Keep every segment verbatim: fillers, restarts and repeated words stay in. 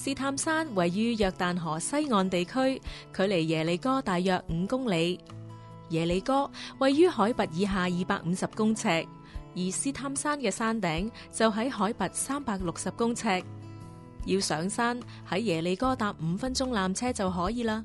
試探山位於約旦河西岸地區，距離耶利哥大約五公里。耶利哥位於海拔以下二百五十公尺，而試探山嘅山頂就喺海拔三百六十公尺。要上山喺耶利哥搭五分鐘纜車就可以啦。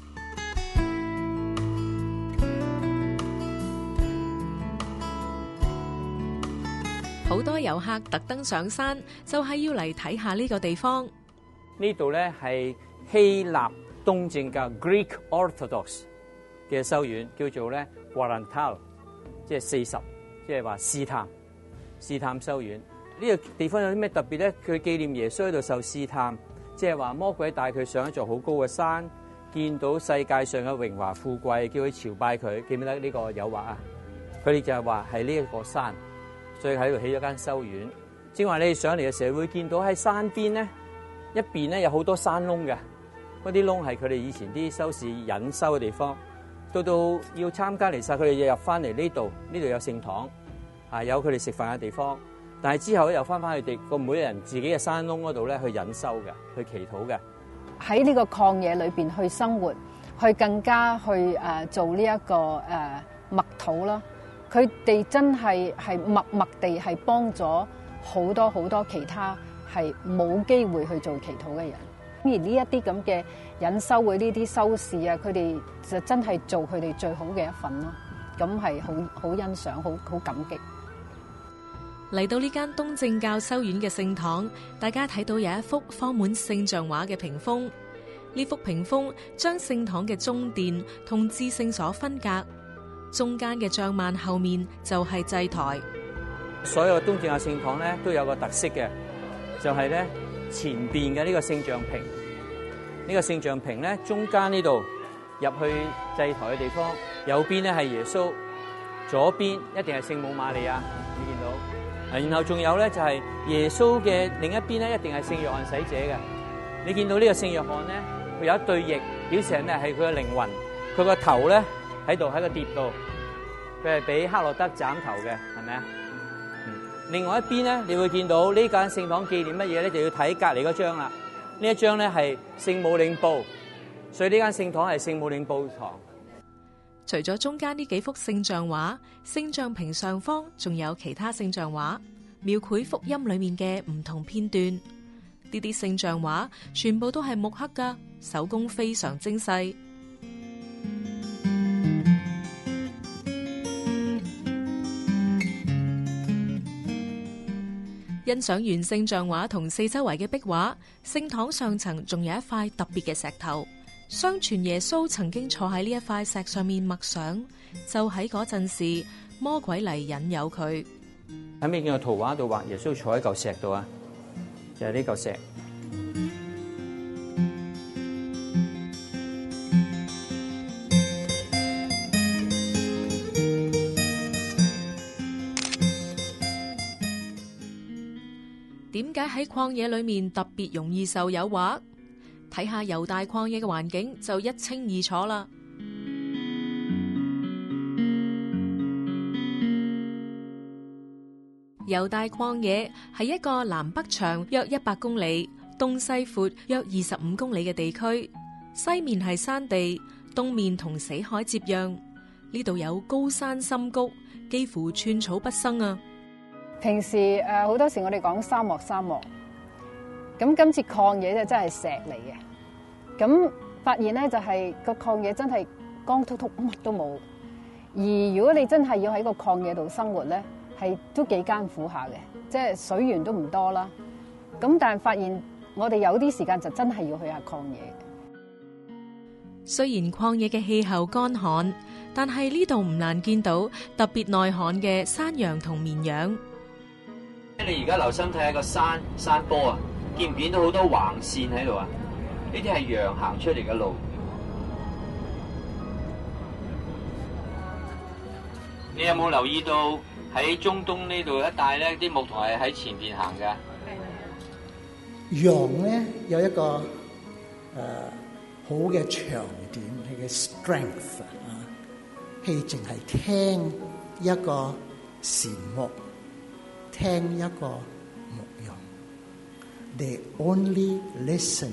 好多遊客特登上山，就係要嚟睇下呢個地方。 呢度咧係希臘東正教 Greek Orthodox 嘅修院，叫做咧 Quarantal， 即係四十，即係話試探試探修院。呢個地方有啲咩特別咧？佢紀念耶穌喺度受試探，即係話魔鬼帶佢上一座好高嘅山，見到世界上嘅榮華富貴，叫佢朝拜佢。記唔記得呢個誘惑啊？佢哋就係話係呢一個山。所以喺度起咗間修院。正話你哋上嚟嘅時候會見到喺山邊咧，一邊咧有好多山窿嘅，嗰啲窿係佢哋以前啲修士隱修嘅地方。到到要參加彌撒，佢哋又入翻嚟呢度，呢度有聖堂，啊有佢哋食飯嘅地方。但係之後咧又翻翻佢哋個每人自己嘅山窿嗰度咧去隱修嘅，去祈禱嘅。 喺呢個曠野裏邊去生活，去更加去誒、呃、做呢、這、一個誒、呃、默禱啦。佢哋真係係默默地係幫咗好多好多其他係冇機會去做祈禱嘅人。而呢一啲咁嘅隱修會呢啲修士啊，佢哋就真係做佢哋最好嘅一份咯。咁係好好欣賞，好好感激。 嚟到呢間東正教修院嘅聖堂，大家睇到有一幅放滿聖像畫嘅屏風。呢幅屏風將聖堂嘅中殿同至聖所分隔。中間嘅帳幔後面就係祭台。 所有東正教聖堂咧都有個特色嘅，就係咧前邊嘅呢個聖像屏，呢個聖像屏咧中間呢度入去祭台嘅地方，右邊咧係耶穌，左邊一定係聖母瑪利亞，你見到。然後仲有咧就係耶穌嘅另一邊咧一定係聖約翰洗者嘅。你見到呢個聖約翰咧，佢有一對翼，表示係咩？係佢嘅靈魂，佢個頭咧。喺度喺個碟度，佢係俾黑落德斬頭嘅，係咪啊？嗯。另外一邊咧，你會見到呢間聖堂紀念乜嘢咧？就要睇隔離嗰張啦。呢一張咧係聖母領報，所以呢間聖堂係聖母領報堂。 除咗中間呢幾幅聖像畫，聖像屏上方仲有其他聖像畫，描繪福音裏面嘅唔同片段。呢啲聖像畫全部都係木刻噶，手工非常精細。欣賞完聖像畫同四周圍嘅壁畫，聖堂上層仲有一塊特別嘅石頭。相傳耶穌曾經坐喺呢一塊石上面默想，就喺嗰陣時，魔鬼嚟引誘佢。 喺邊個圖畫度畫耶穌坐喺嚿石度啊？就係呢嚿石。 點解喺曠野裏面特別容易受誘惑？睇下猶大曠野嘅環境就一清二楚啦。猶大曠野係一個南北長約一百公里、東西闊約二十五公里嘅地區，西面係山地，東面同死海接壤。呢度有高山深谷，幾乎寸草不生啊！ 平時誒好多時我哋講沙漠沙漠，咁今次曠野就真係石嚟嘅。咁發現咧就係個曠野真係光禿禿，乜都冇。而如果你真係要喺個曠野度生活咧，係都幾艱苦下嘅，即係水源都唔多啦。咁但係發現我哋有啲時間就真係要去下曠野。 雖然曠野嘅氣候乾旱，但係呢度唔難見到特別耐旱嘅山羊同綿羊。 你而家留心睇下個山山坡啊，見唔見到好多橫線喺度啊？呢啲係羊行出嚟嘅路。你有冇留意到喺中東呢度一帶咧，啲牧童係喺前邊行嘅？ 羊咧有一個誒、呃、好嘅長點，係嘅 strength 啊，係淨係聽一個禪牧。聽一個牧羊， they only listen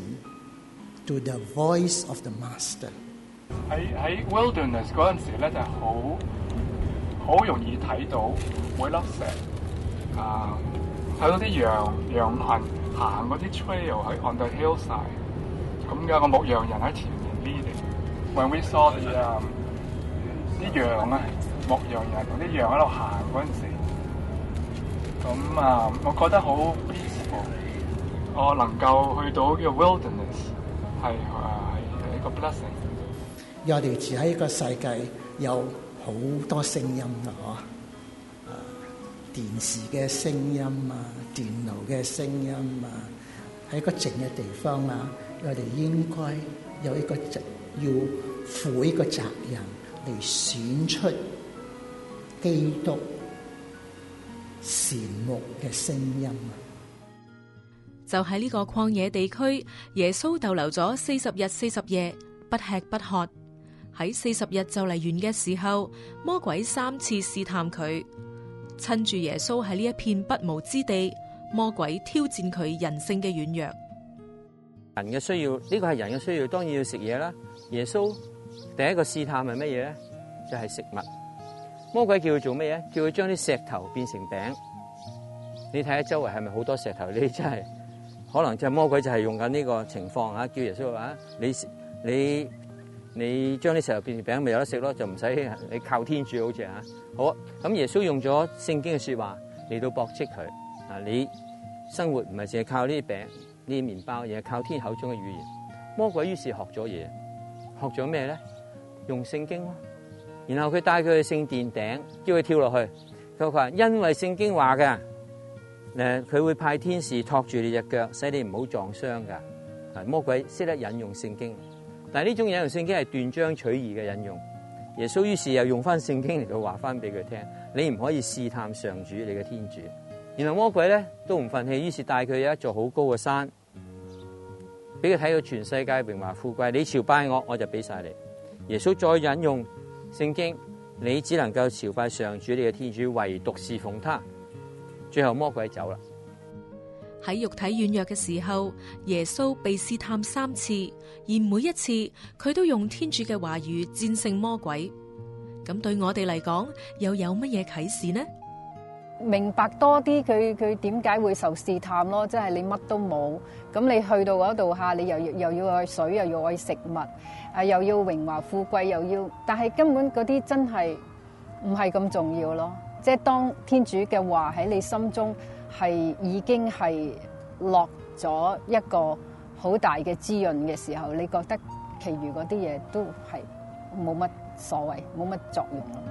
to the voice of the master。 喺喺 wilderness 嗰陣時咧，就係好好容易睇到每粒石啊，睇到啲羊羊群行嗰啲 trail 喺 on the hillside，咁有個牧羊人喺前面 leading。When we saw the 啲羊啊，牧羊人同啲羊喺度行嗰陣時，咁啊，我覺得好 peaceful。我能夠去到呢個 wilderness 係啊係一個 blessing。 我哋住喺一個世界，有好多聲音啦，嗬，啊，電視嘅聲音啊，電腦嘅聲音啊，喺一個靜嘅地方啊，我哋應該有一個責，要負一個責任嚟選出基督善牧嘅聲音啊！ 就喺呢個曠野地區，耶穌逗留咗四十日四十夜，不吃不喝。喺四十日就嚟完嘅時候，魔鬼三次試探佢，趁住耶穌喺呢一片不毛之地，魔鬼挑戰佢人性嘅軟弱。 人嘅需要，呢個係人嘅需要，當然要食嘢啦。耶穌第一個試探係乜嘢咧？就係食物。魔鬼叫佢做咩嘢？叫佢將啲石頭變成餅。你睇下周圍係咪好多石頭？你真係可能就係魔鬼就係用緊呢個情況啊！叫耶穌話：你你。你將啲石頭變成餅，咪有得食咯，就唔使你靠天主好似啊。好啊，咁耶穌用咗聖經嘅說話嚟到駁斥佢啊！你生活唔係淨係靠呢啲餅、呢啲麵包，而係靠天口中嘅語言。魔鬼於是學咗嘢，學咗咩咧？用聖經咯。然後佢帶佢去聖殿頂，叫佢跳落去。佢話：因為聖經話嘅，誒，佢會派天使托住你隻腳，使你唔好撞傷噶。啊，魔鬼識得引用聖經。但係呢種引用聖經係斷章取義嘅引用，耶穌於是又用翻聖經嚟到話翻俾佢聽，你唔可以試探上主你嘅天主。然後魔鬼咧都唔忿氣，於是帶佢有一座好高嘅山，俾佢睇到全世界榮華富貴，你朝拜我，我就俾晒你。耶穌再引用聖經，你只能夠朝拜上主你嘅天主，唯獨侍奉他。最後魔鬼走啦。 喺肉體軟弱嘅時候，耶穌被試探三次，而每一次佢都用天主嘅話語戰勝魔鬼。咁對我哋嚟講，又有乜嘢啟示呢？ 明白多啲佢佢點解會受試探咯，即係你乜都冇，咁你去到嗰度下，你又又要愛水，又要愛食物，啊又要榮華富貴，又要，但係根本嗰啲真係唔係咁重要咯。即係當天主嘅話喺你心中係已經係落咗一個好大嘅滋潤嘅時候，你覺得其餘嗰啲嘢都係冇乜所謂，冇乜作用咯。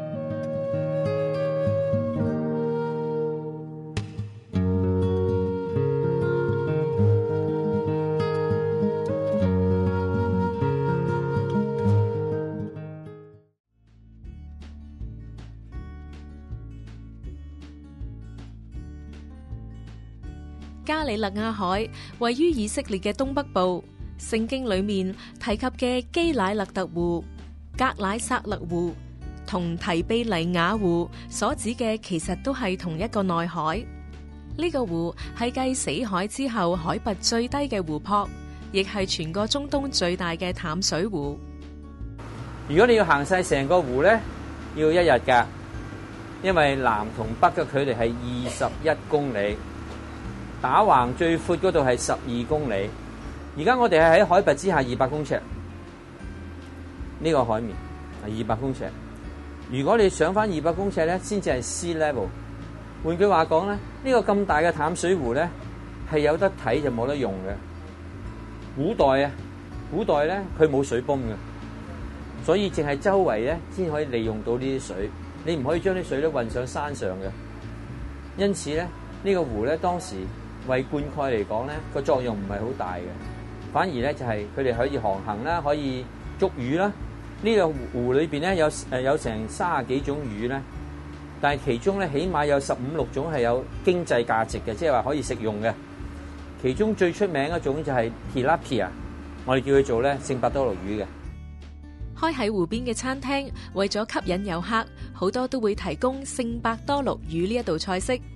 加里勒亞海位於以色列嘅東北部，聖經裏面提及嘅基乃勒特湖、格乃撒勒湖同提庇黎雅湖所指嘅，其實都係同一個內海。呢個湖係繼死海之後海拔最低嘅湖泊，亦係全個中東最大嘅淡水湖。 如果你要行晒成個湖咧，要一日噶，因為南同北嘅距離係二十一公里。打橫最闊嗰度係十二公里，而家我哋係喺海拔之下二百公尺，呢個海面係二百公尺。如果你上翻二百公尺咧，先至係 sea level。換句話講咧，呢個咁大嘅淡水湖咧，係有得睇就冇得用嘅。古代啊，古代咧佢冇水泵嘅，所以淨係周圍咧先可以利用到呢啲水，你唔可以將啲水咧運上山上嘅。因此咧，呢個湖咧當時為灌溉嚟講咧，個作用唔係好大嘅，反而咧就係佢哋可以航行啦，可以捉魚啦。呢個湖裏邊咧有誒有成三十幾種魚咧，但係其中咧起碼有十五六種係有經濟價值嘅，即係話可以食用嘅。其中最出名一種就係 tilapia， 我哋叫佢做咧聖伯多祿魚嘅。 開喺湖邊嘅餐廳，為咗吸引遊客，好多都會提供聖伯多祿魚呢一道菜式。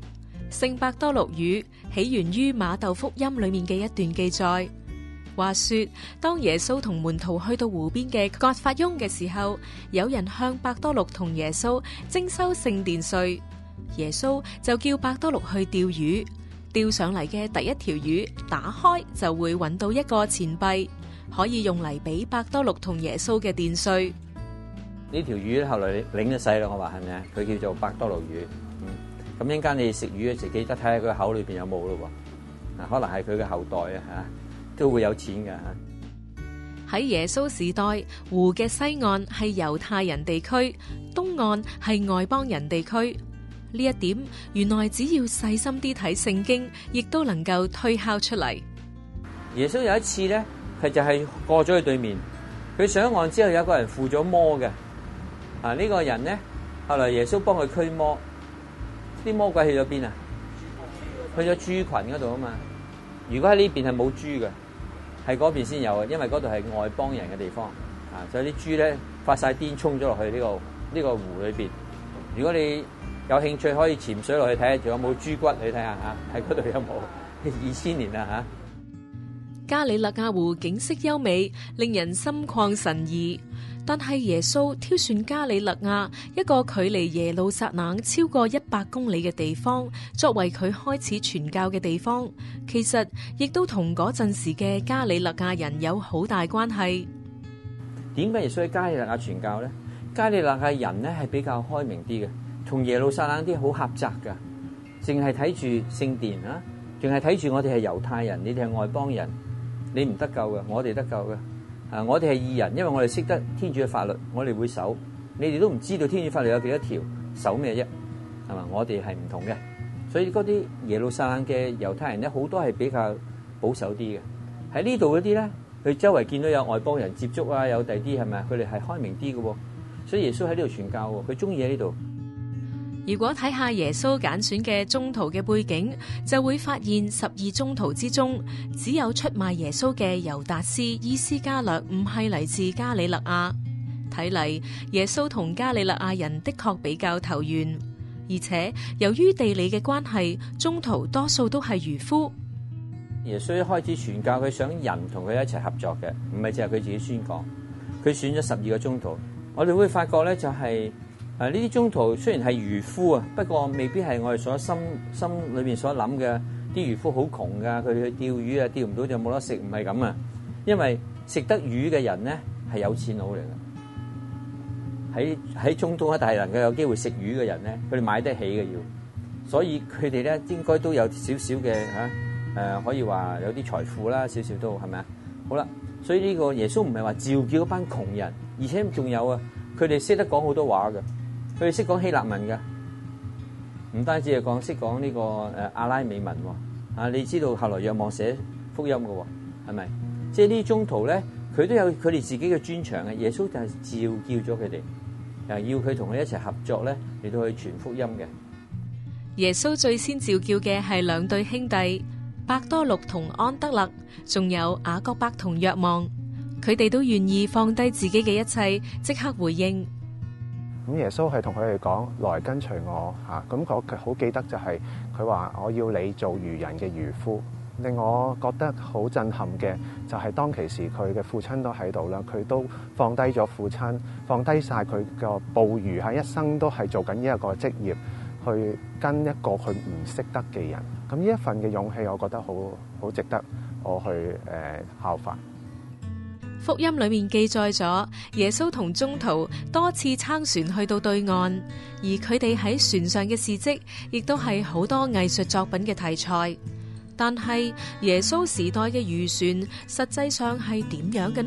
聖伯多祿語起源於馬竇福音裏面嘅一段記載。話說，當耶穌同門徒去到湖邊嘅葛法翁嘅時候，有人向伯多祿同耶穌徵收聖殿稅，耶穌就叫伯多祿去釣魚，釣上嚟嘅第一條魚打開就會揾到一個錢幣，可以用嚟俾伯多祿同耶穌嘅殿稅。 呢條魚後來領咗洗啦，我話係咪啊？佢叫做伯多祿魚。嗯，咁一陣間你食魚嘅時，記得睇下佢口裏邊有冇咯喎。啊，可能係佢嘅後代啊吓。都會有錢㗎。 喺耶穌時代，湖嘅西岸係猶太人地區，東岸係外邦人地區。呢一點原來只要細心啲睇聖經，亦都能夠推敲出嚟。 耶穌有一次咧，佢就係過咗去對面，佢上岸之後有一個人附咗魔嘅。啊，呢個人咧，後來耶穌幫佢驅魔，啲魔鬼去咗邊啊？去咗豬群嗰度啊嘛。如果喺呢邊係冇豬嘅。係嗰邊先有嘅，因為嗰度係外邦人嘅地方，啊，所以啲豬咧發晒癲衝咗落去呢個呢個湖裏邊。如果你有興趣，可以潛水落去睇下，仲有冇豬骨你睇下嚇，喺嗰度有冇？二千年啦嚇。 加里肋亞湖景色優美，令人心曠神怡。但係耶穌挑選加里肋亞一個距離耶路撒冷超過一百公里嘅地方，作為佢開始傳教嘅地方，其實亦都同嗰陣時嘅加里肋亞人有好大關係。 點解耶穌喺加里肋亞傳教咧？加里肋亞人咧係比較開明啲嘅，同耶路撒冷啲好狹窄噶，淨係睇住聖殿啊，淨係睇住我哋係猶太人，你哋係外邦人，你唔得救嘅，我哋得救嘅。啊！我哋係義人，因為我哋識得天主嘅法律，我哋會守。你哋都唔知道天主法律有幾多條，守咩啫？係嘛？我哋係唔同嘅，所以嗰啲耶路撒冷嘅猶太人咧，好多係比較保守啲嘅。喺呢度嗰啲咧，佢周圍見到有外邦人接觸啊，有第啲係咪？佢哋係開明啲嘅，所以耶穌喺呢度傳教，佢中意喺呢度。 如果睇下耶穌揀選嘅宗徒嘅背景，就會發現十二宗徒之中，只有出賣耶穌嘅猶達斯伊斯加略唔係嚟自加里肋亞。睇嚟耶穌同加里肋亞人的確比較投緣，而且由於地理嘅關係，宗徒多數都係漁夫。 耶穌一開始傳教，佢想人同佢一齊合作嘅，唔係淨係佢自己宣講。佢選咗十二個宗徒，我哋會發覺咧就係、是。誒，呢啲宗徒雖然係漁夫啊，不過未必係我哋所心心裏邊所諗嘅。啲漁夫好窮噶，佢哋去釣魚啊，釣唔到就冇得食，唔係咁啊。因為食得魚嘅人咧係有錢佬嚟嘅。喺喺中東一帶能夠有機會食魚嘅人咧，佢哋買得起嘅要，所以佢哋咧應該都有少少嘅吓誒，可以話有啲財富啦，少少都係咪啊？好啦，所以呢個耶穌唔係話召叫一班窮人，而且仲有啊，佢哋識得講好多話嘅。佢哋識講希臘文㗎，唔單止係講識講呢個誒阿拉美文喎。啊，你知道後來若望寫福音嘅喎，係咪？即係呢啲宗徒咧，佢都有佢哋自己嘅專長嘅。耶穌就係召叫咗佢哋，又要佢同佢一齊合作咧，嚟到去傳福音嘅。 耶穌最先召叫嘅係兩對兄弟，伯多祿同安德肋，仲有雅各伯同若望。佢哋都願意放低自己嘅一切，即刻回應。 咁耶穌係同佢哋講，來跟隨我嚇。咁我好記得就係佢話我要你做漁人嘅漁夫。令我覺得好震撼嘅就係當其時佢嘅父親都喺度啦，佢都放低咗父親，放低晒佢個捕魚喺一生都係做緊呢一個職業，去跟一個佢唔識得嘅人。咁呢一份嘅勇氣，我覺得好好值得我去誒、呃、效法。 福音裏面記載咗耶穌同宗徒多次撐船去到對岸，而佢哋喺船上嘅事蹟亦都係好多藝術作品嘅題材。但係耶穌時代嘅漁船實際上係點樣嘅呢？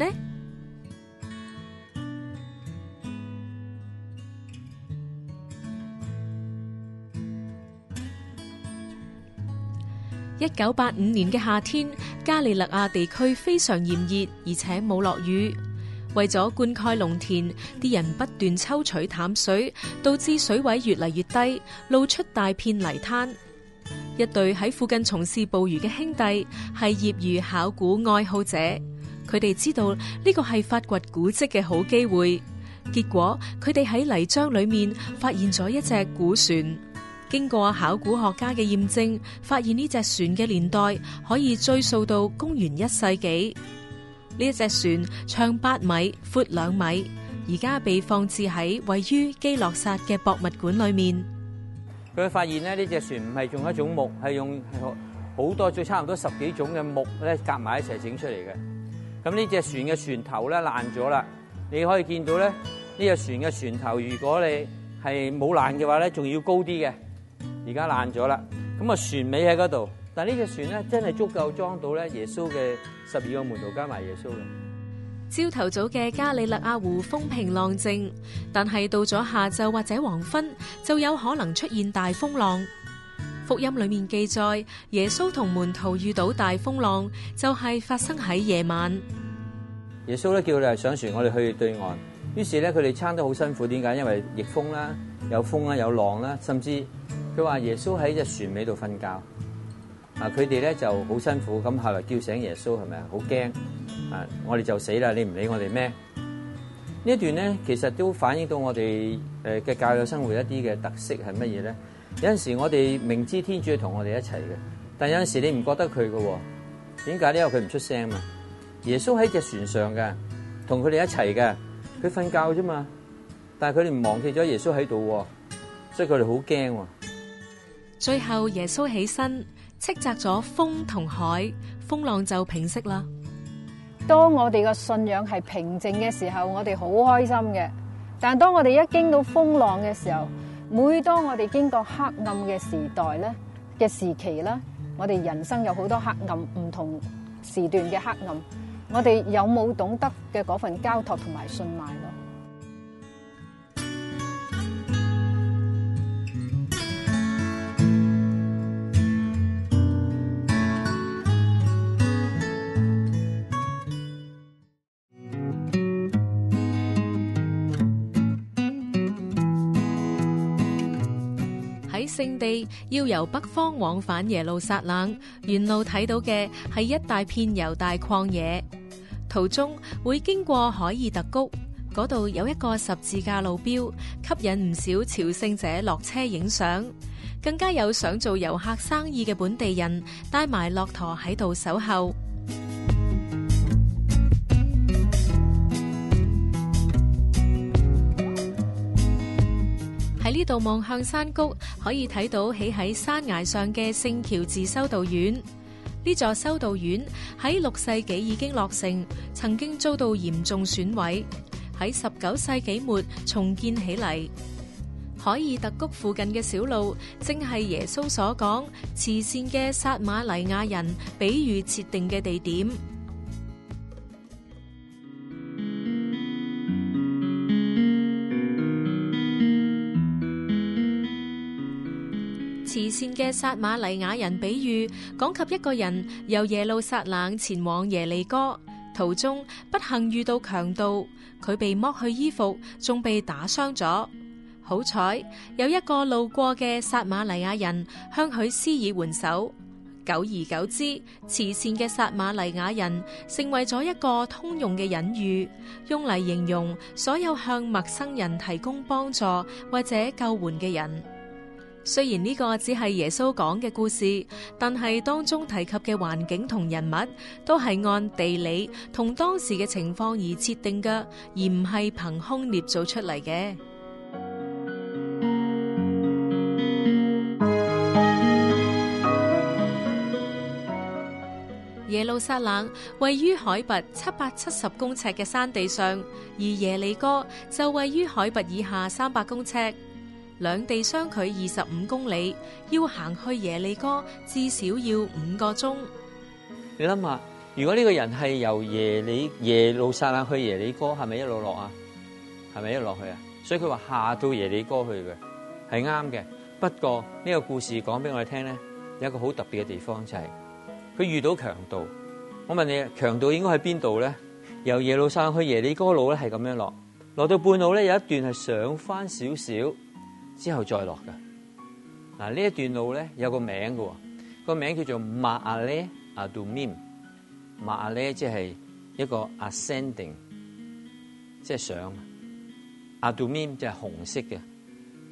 一九八五年嘅夏天，加里肋亞地區非常炎熱，而且冇落雨。為咗灌溉農田，啲人不斷抽取淡水，導致水位越嚟越低，露出大片泥灘。一對喺附近從事捕魚嘅兄弟係業餘考古愛好者，佢哋知道呢個係發掘古蹟嘅好機會。結果佢哋喺泥漿裏面發現咗一隻古船。 經過考古學家嘅驗證，發現呢隻船嘅年代可以追溯到公元一世紀。呢一隻船長八米，闊兩米，而家被放置喺位於基洛薩嘅博物館裏面。 佢發現咧，呢隻船唔係用一種木，係用好多最差唔多十幾種嘅木咧夾埋一齊整出嚟嘅。咁呢隻船嘅船頭咧爛咗啦，你可以見到咧呢隻船嘅船頭，如果你係冇爛嘅話咧，仲要高啲嘅。而家爛咗啦，咁啊船尾喺嗰度，但係呢隻船咧真係足夠裝到咧耶穌嘅十二個門徒加埋耶穌嘅。 朝頭早嘅加里肋亞湖風平浪靜，但係到咗下晝或者黃昏，就有可能出現大風浪。福音裏面記載，耶穌同門徒遇到大風浪，就係發生喺夜晚。 耶穌咧叫佢哋上船，我哋去對岸。於是咧佢哋撐得好辛苦，點解？因為逆風啦，有風啦，有浪啦，甚至佢話耶穌喺隻船尾度瞓覺。啊，佢哋咧就好辛苦，咁後來叫醒耶穌，係咪啊？好驚啊！我哋就死啦，你唔理我哋咩？呢一段咧，其實都反映到我哋誒嘅教友生活一啲嘅特色係乜嘢咧？有陣時我哋明知天主係同我哋一齊嘅，但有陣時你唔覺得佢嘅，點解呢？因為佢唔出聲嘛。耶穌喺隻船上嘅，同佢哋一齊嘅，佢瞓覺啫嘛。但係佢哋唔忘記咗耶穌喺度，所以佢哋好驚。 最後耶穌起身，斥責咗風同海，風浪就平息啦。 當我哋嘅信仰係平靜嘅時候，我哋好開心嘅。但係當我哋一經到風浪嘅時候，每當我哋經過黑暗嘅時代咧嘅時期咧，我哋人生有好多黑暗，唔同時段嘅黑暗，我哋有冇懂得嘅嗰份交託同埋信賴咯？ 喺聖地要由北方往返耶路撒冷，沿路睇到嘅係一大片猶大曠野，途中會經過海爾特谷，嗰度有一個十字架路標，吸引唔少朝聖者落車影相，更加有想做遊客生意嘅本地人帶埋駱駝喺度守候。喺呢度望向山谷，可以睇到起喺山崖上嘅聖喬治修道院。呢座修道院喺六世紀已經落成，曾經遭到嚴重損毀，喺十九世紀末重建起嚟。海爾特谷附近嘅小路，正係耶穌所講慈善嘅撒瑪黎亞人比喻設定嘅地點。慈善嘅撒瑪黎亞人比喻講及一個人由耶路撒冷前往耶利哥，途中不幸遇到強盜，佢被剝去衣服，仲被打傷咗。好彩有一個路過嘅撒瑪黎亞人向佢施以援手，久而久之，慈善嘅撒瑪黎亞人成為咗一個通用嘅隱喻，用嚟形容所有向陌生人提供幫助或者救援嘅人。雖然呢個只係耶穌講嘅故事，但係當中提及嘅環境同人物都係按地理同當時嘅情況而設定嘅，而唔係憑空捏造出嚟嘅。耶路撒冷位於海拔七百七十公尺嘅山地上，而耶利哥就位於海拔以下三百公尺。兩地相距二十五公里，要行去耶利哥至少要五個鐘。 你諗下，如果呢個人係由耶利耶路撒冷去耶利哥，係咪一路落啊？係咪一路落去啊？所以佢話下到耶利哥去嘅係啱嘅。不過呢個故事講俾我哋聽咧，有一個好特別嘅地方，就係佢遇到強盜。我問你，強盜應該喺邊度咧？由耶路撒冷去耶利哥路咧係咁樣落，落到半路咧有一段係上翻少少。之後再落嘅。嗱，呢一段路咧有個名嘅，個名叫做馬阿咧阿杜米姆。馬阿咧即係一個 ascending， 即係上。阿杜米姆即係紅色嘅，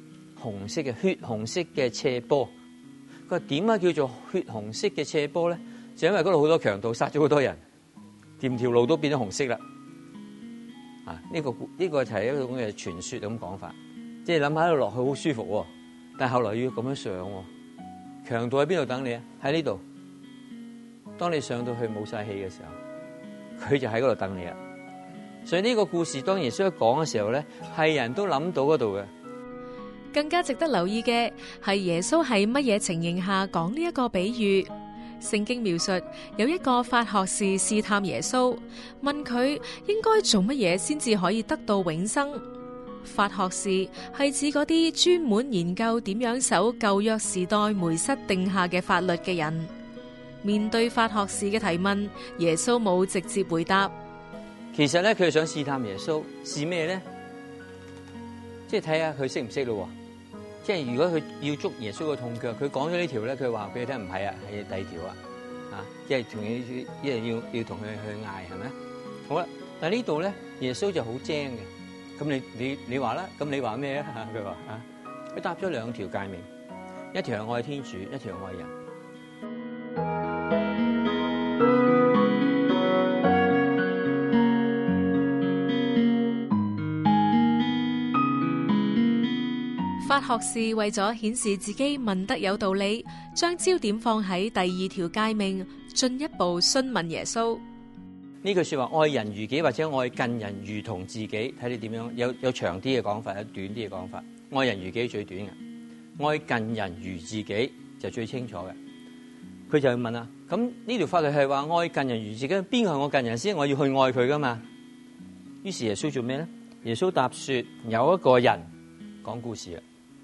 紅色嘅血紅色嘅斜坡。佢話點解叫做血紅色嘅斜坡咧？就因為嗰度好多強盜殺咗好多人，條條路都變咗紅色啦。啊，呢個呢個就係一種嘅傳說咁講法，即係諗下喺度落去好舒服，但係後來要咁樣上，強盜喺邊度等你啊？喺呢度。當你上到去冇晒氣嘅時候，佢就喺嗰度等你啊。所以呢個故事當耶穌一講嘅時候咧，係人都諗到嗰度嘅。 更加值得留意嘅係耶穌喺乜嘢情形下講呢一個比喻。聖經描述有一個法學士試探耶穌，問佢應該做乜嘢先至可以得到永生。法學士係指嗰啲專門研究點樣守舊約時代梅瑟定下嘅法律嘅人。面對法學士嘅提問，耶穌冇直接回答。 其實咧，佢係想試探耶穌，試咩咧？即係睇下佢識唔識咯。即係如果佢要捉耶穌嘅痛腳，佢講咗呢條咧，佢話俾你聽唔係啊，係第二條啊，啊，即係同你一係要要同佢去嗌，係咪？好啦，但係呢度咧，耶穌就好精嘅。咁你你你話啦，咁你話咩啊？佢話啊，佢答咗兩條誡命，一條係愛天主，一條係愛人。 法學士為咗顯示自己問得有道理，將焦點放喺第二條誡命，進一步詢問耶穌。 呢句說話，愛人如己或者愛近人如同自己，睇你點樣，有有長啲嘅講法，有短啲嘅講法。愛人如己最短嘅，愛近人如自己就最清楚嘅。佢就問啦，咁呢條法律係話愛近人如自己，邊個係我近人先？我要去愛佢噶嘛？於是耶穌做咩咧？耶穌答說，有一個人講故事啊。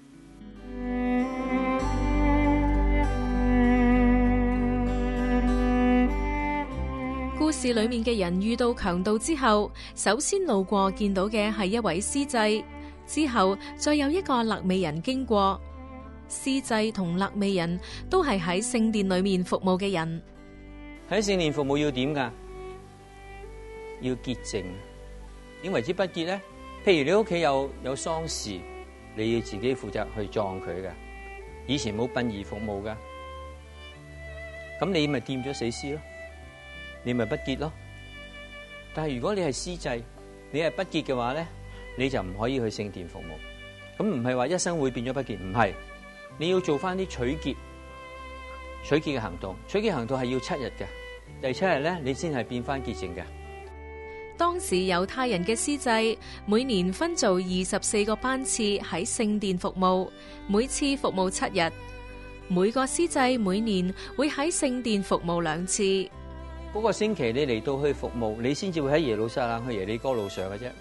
故事裏面嘅人遇到強盜之後，首先路過見到嘅係一位司祭，之後再有一個肋未人經過。司祭同肋未人都係喺聖殿裏面服務嘅人。 喺聖殿服務要點噶？要潔淨。點為之不潔咧？譬如你屋企有有喪事，你要自己負責去葬佢嘅。以前冇殯儀服務噶，咁你咪掂咗死屍咯，你咪不潔咯。但係如果你係司祭，你係不潔嘅話咧，你就唔可以去聖殿服務。咁唔係話一生會變咗不潔，唔係。你要做翻啲取潔、取潔嘅行動。取潔行動係要七日嘅，第七日咧你先係變翻潔淨嘅。 當時猶太人嘅司祭每年分做二十四個班次喺聖殿服務，每次服務七日。每個司祭每年會喺聖殿服務兩次。 嗰個星期你嚟到去服務，你先至會喺耶路撒冷去耶利哥路上嘅啫。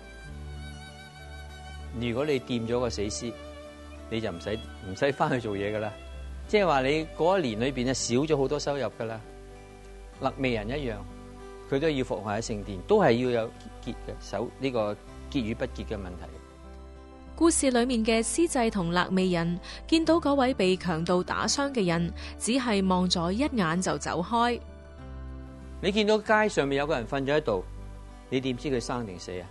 如果你掂咗個死屍，你就唔使唔使翻去做嘢噶啦。即係話你嗰一年裏邊啊少咗好多收入噶啦。肋未人一樣，佢都要服務喺聖殿，都係要有潔嘅守呢個潔與不潔嘅問題。 故事裏面嘅司祭同肋未人見到嗰位被強盜打傷嘅人，只係望咗一眼就走開。 你見到街上面有個人瞓咗喺度，你點知佢生定死啊？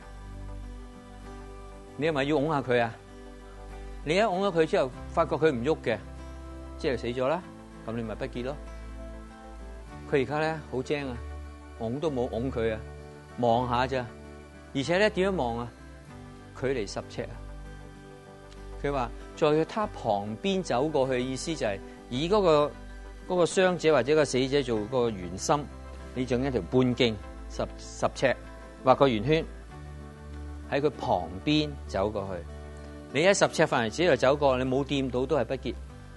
你係咪要擁下佢啊？你一擁咗佢之後，發覺佢唔喐嘅，即係死咗啦，咁你咪不潔咯。佢而家咧好精啊，擁都冇擁佢啊，望下咋，而且咧點樣望啊？距離十尺啊！佢話在佢他旁邊走過去嘅意思就係以嗰個嗰個傷者或者個死者做個圓心，你整一條半徑十十尺畫個圓圈喺佢旁邊走過去。你喺十尺範圍之內走過，你冇掂到都係不潔。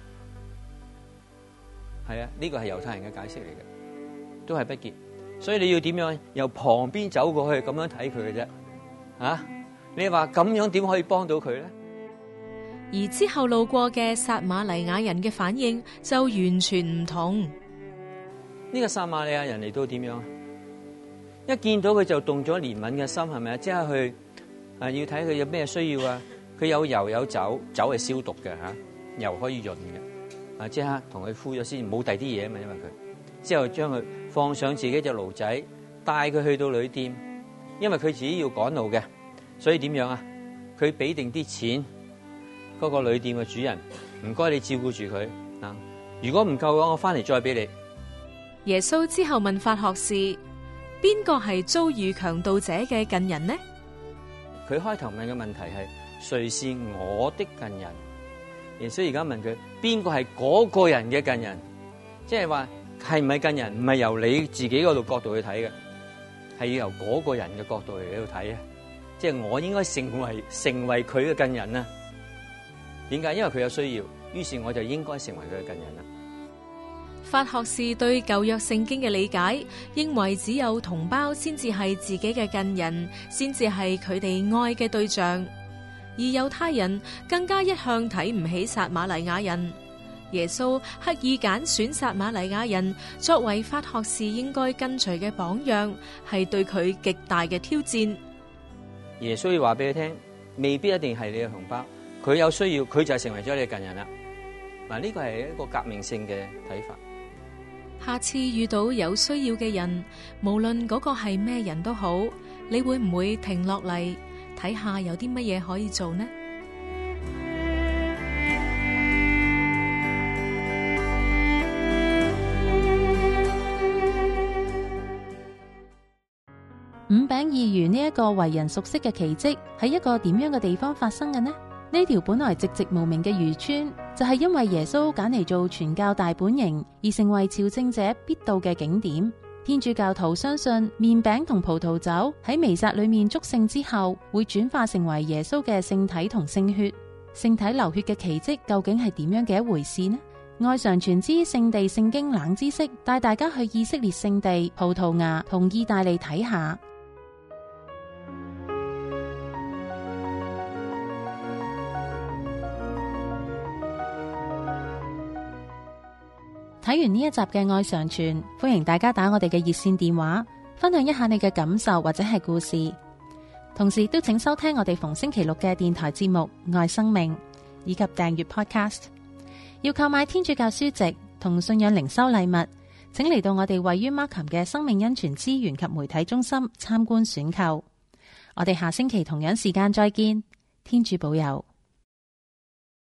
係啊，呢個係猶太人嘅解釋嚟嘅，都係不潔。所以你要點樣由旁邊走過去咁樣睇佢嘅啫？啊，你話咁樣點可以幫到佢咧？ 而之後路過嘅撒瑪黎雅人嘅反應就完全唔同。 呢個撒瑪利亞人嚟到點樣啊？一見到佢就動咗憐憫嘅心，係咪啊？即刻去啊，要睇佢有咩需要啊？佢有油有酒，酒係消毒嘅吓，油可以潤嘅啊！即刻同佢敷咗先，冇第啲嘢啊嘛，因為佢之後將佢放上自己隻驢仔，帶佢去到旅店，因為佢自己要趕路嘅，所以點樣啊？佢俾定啲錢， 嗰個旅店嘅主人，唔該你照顧住佢啊。如果唔夠嘅話，我翻嚟再俾你。 耶穌之後問法學士：邊個係遭遇強盜者嘅近人呢？ 佢開頭問嘅問題係：誰是我的近人？耶穌而家問佢：邊個係嗰個人嘅近人？即係話係唔係近人？唔係由你自己嗰度角度去睇嘅，係要由嗰個人嘅角度嚟喺度睇啊！即係我應該成為成為佢嘅近人啊？點解？因為佢有需要，於是我就應該成為佢嘅近人啦。 法學士對舊約聖經嘅理解，認為只有同胞先至係自己嘅近人，先至係佢哋愛嘅對象。而猶太人更加一向睇唔起撒瑪黎雅人。耶穌刻意揀選撒瑪黎雅人作為法學士應該跟隨嘅榜樣，係對佢極大嘅挑戰。 耶穌要話俾佢聽，未必一定係你嘅同胞，佢有需要，佢就成為咗你嘅近人啦。嗱，呢個係一個革命性嘅睇法。 下次遇到有需要嘅人，無論嗰個係咩人都好，你會唔會停落嚟睇下有啲乜嘢可以做呢？ 五餅二魚呢一個為人熟悉嘅奇蹟，喺一個點樣嘅地方發生嘅呢？呢條本來寂寂無名嘅漁村，就係因為耶穌揀嚟做傳教大本營，而成為朝聖者必到嘅景點。天主教徒相信麵餅同葡萄酒喺彌撒裏面祝聖之後，會轉化成為耶穌嘅聖體同聖血。聖體流血嘅奇蹟究竟係點樣嘅一回事呢？愛常傳之聖地聖經冷知識，帶大家去以色列聖地葡萄牙同意大利睇下。睇完呢一集嘅愛常傳，歡迎大家打我哋嘅熱線電話，分享一下你嘅感受或者係故事。同時都請收聽我哋逢星期六嘅電台節目《愛生命》，以及訂閱 Podcast。要購買天主教書籍同信仰靈修禮物，請嚟到我哋位於 Markham 嘅生命恩泉資源及媒體中心參觀選購。我哋下星期同樣時間再見，天主保佑。